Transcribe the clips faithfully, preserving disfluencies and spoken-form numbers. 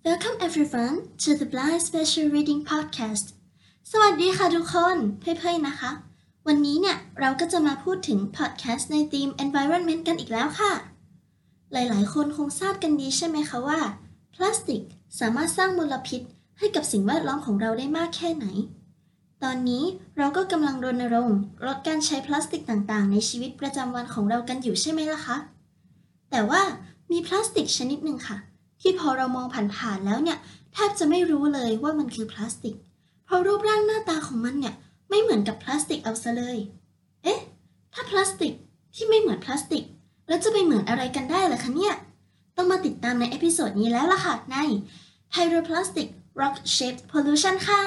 Welcome everyone to the Blind Special Reading Podcast สวัสดีค่ะทุกคนเพื่อนๆนะคะวันนี้เนี่ยเราก็จะมาพูดถึง podcast ในธีม environment กันอีกแล้วค่ะหลายๆคนคงทราบกันดีใช่ไหมคะว่าพลาสติกสามารถสร้างมลพิษให้กับสิ่งแวดล้อมของเราได้มากแค่ไหนตอนนี้เราก็กำลังรณรงค์ลดการใช้พลาสติกต่างๆในชีวิตประจำวันของเรากันอยู่ใช่ไหมล่ะคะแต่ว่ามีพลาสติกชนิดหนึ่งค่ะที่พอเรามองผ่านๆแล้วเนี่ยแทบจะไม่รู้เลยว่ามันคือพลาสติกเพราะรูปร่างหน้าตาของมันเนี่ยไม่เหมือนกับพลาสติกเอาซะเลยเอ๊ะถ้าพลาสติกที่ไม่เหมือนพลาสติกแล้วจะไปเหมือนอะไรกันได้ล่ะคะเนี่ยต้องมาติดตามในเอพิโซดนี้แล้วล่ะค่ะใน Pyroplastic Rock Shaped Pollution ค่ะ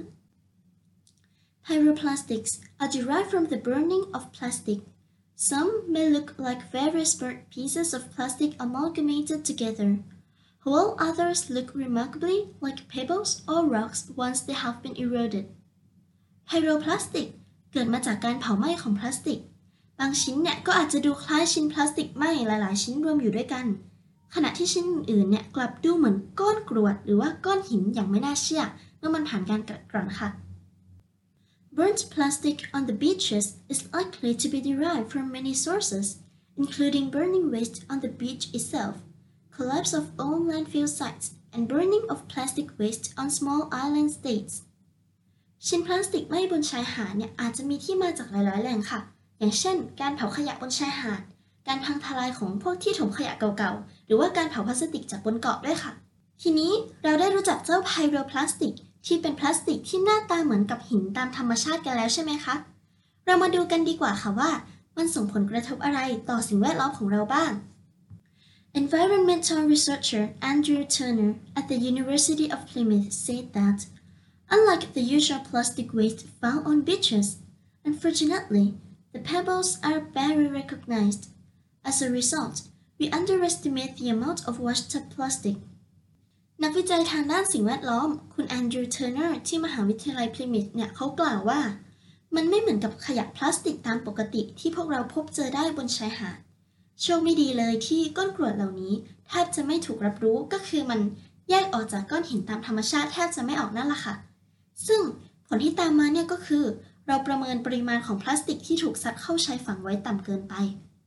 Pyroplastics are derived from the burning of plastic. Some may look like various burnt pieces of plastic amalgamated together.While others look remarkably like pebbles or rocks once they have been eroded. Pyroplastic เกิดมาจากการเผาไหม้ของพลาสติกบางชิ้นเนี่ยก็อาจจะดูคล้ายชิ้นพลาสติกไหม้หลายๆชิ้นรวมอยู่ด้วยกันขณะที่ชิ้นอื่นๆเนี่ยกลับดูเหมือนก้อนกรวดหรือว่าก้อนหินอย่างไม่น่าเชื่อเมื่อมันผ่านการกัดกร่อนค่ะ Burnt plastic on the beaches is likely to be derived from many sources, including burning waste on the beach itself.Collapse of old landfill sites and burning of plastic waste on small island states ชิ้นพลาสติกไหม้บนชายหาดเนี่ยอาจจะมีที่มาจากหลายๆแหล่งค่ะอย่างเช่นการเผาขยะบนชายหาดการพังทลายของพวกที่ถมขยะเก่าๆหรือว่าการเผาพลาสติกจากบนเกาะด้วยค่ะทีนี้เราได้รู้จักเจ้าไพโรพลาสติกที่เป็นพลาสติกที่หน้าตาเหมือนกับหินตามธรรมชาติกันแล้วใช่ไหมคะเรามาดูกันดีกว่าค่ะว่ามันส่งผลกระทบอะไรต่อสิ่งแวดล้อมของเราบ้างEnvironmental researcher Andrew Turner at the University of Plymouth said that, unlike the usual plastic waste found on beaches, unfortunately, the pebbles are barely recognized. As a result, we underestimate the amount of washed-up plastic. นักวิจัยทางด้านสิ่งแวดล้อมคุณแอนดรูว์เทอร์เนอร์ที่มหาวิทยาลัยพลิมิธเนี่ยเขากล่าวว่ามันไม่เหมือนกับขยะพลาสติกตามปกติที่พวกเราพบเจอได้บนชายหาดโชคไม่ดีเลยที่ก้อนกรวดเหล่านี้แทบจะไม่ถูกรับรู้ก็คือมันแยกออกจากก้อนหินตามธรรมชาติแทบจะไม่ออกนั่นแหละค่ะซึ่งผลที่ตามมาเนี่ยก็คือเราประเมินปริมาณของพลาสติกที่ถูกซัดเข้าชายฝั่งไว้ต่ำเกินไป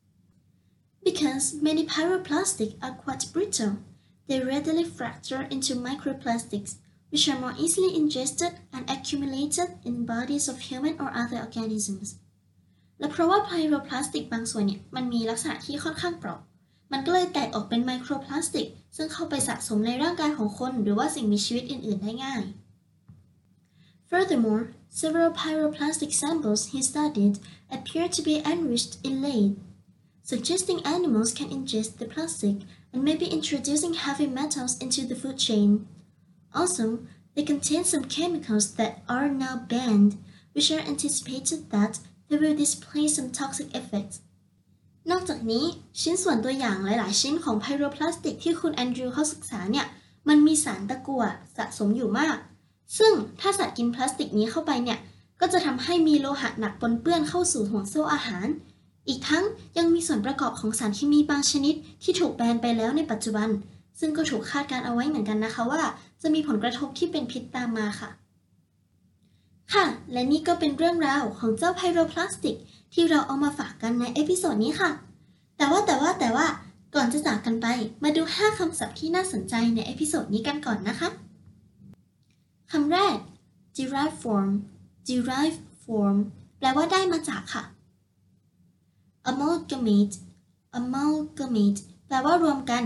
Because many pyroplastics are quite brittle, they readily fracture into microplastics, which are more easily ingested and accumulated in bodies of human or other organisms.และเพราะว่าไพโรพลาสติกบางส่วนเนี่ยมันมีลักษณะที่ค่อนข้างเปราะมันก็เลยแตกออกเป็นไมโครพลาสติกซึ่งเข้าไปสะสมในร่างกายของคนหรือว่าสิ่งมีชีวิตอื่นๆได้ง่าย Furthermore, several pyroplastic samples he studied appear to be enriched in lead, suggesting animals can ingest the plastic and may be introducing heavy metals into the food chain. Also, they contain some chemicals that are now banned, which are anticipated that.They will display some toxic effects. นอกจากนี้ชิ้นส่วนตัวอย่างหลายๆชิ้นของไพโรพลาสติกที่คุณแอนดรูว์เขาศึกษาเนี่ยมันมีสารตะกั่วสะสมอยู่มากซึ่งถ้าสัตว์กินพลาสติกนี้เข้าไปเนี่ยก็จะทำให้มีโลหะหนักปนเปื้อนเข้าสู่ห่วงโซ่อาหารอีกทั้งยังมีส่วนประกอบของสารเคมีบางชนิดที่ถูกแบนไปแล้วในปัจจุบันซึ่งก็ถูกคาดการเอาไว้เหมือนกันนะคะว่าจะมีผลกระทบที่เป็นพิษตามมาค่ะค่ะและนี่ก็เป็นเรื่องราวของเจ้าไพโรพลาสติกที่เราเอามาฝากกันในเอพิโซดนี้ค่ะแต่ว่าแต่ว่าแต่ว่าก่อนจะจากกันไปมาดูห้าคำศัพท์ที่น่าสนใจในเอพิโซดนี้กันก่อนนะคะคำแรก derive form derive form แปลว่าได้มาจากค่ะ amalgamate amalgamate แปลว่ารวมกัน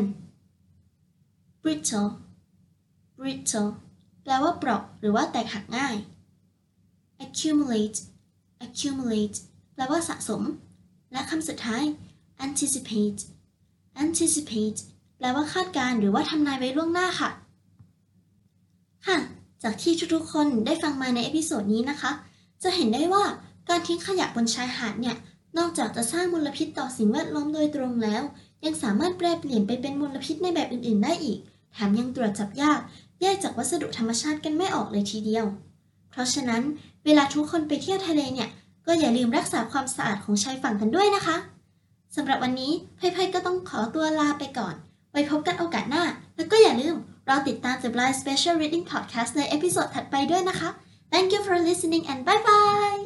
brittle brittle แปลว่าเปราะหรือว่าแตกหักง่ายaccumulate accumulate แปลว่าสะสมและคำสุดท้าย anticipate anticipate แปลว่าคาดการณ์หรือว่าทำนายไว้ล่วงหน้าค่ะค่ะจากที่ทุกๆคนได้ฟังมาในเอพิโซดนี้นะคะจะเห็นได้ว่าการทิ้งขยะบนชายหาดเนี่ยนอกจากจะสร้างมลพิษต่อสิ่งแวดล้อมโดยตรงแล้วยังสามารถแปรเปลี่ยนไปเป็นมลพิษในแบบอื่นๆได้อีกแถมยังตรวจจับยากแยกจากวัสดุธรรมชาติกันไม่ออกเลยทีเดียวเพราะฉะนั้นเวลาทุกคนไปเที่ยวทะเลเนี่ยก็อย่าลืมรักษาความสะอาดของชายฝั่งกันด้วยนะคะสำหรับวันนี้ไพ่ๆก็ต้องขอตัวลาไปก่อนไว้พบกันโอกาสหน้าแล้วก็อย่าลืมเราติดตาม The Blind Special Reading Podcast ในเอพิโซดถัดไปด้วยนะคะ Thank you for listening and bye bye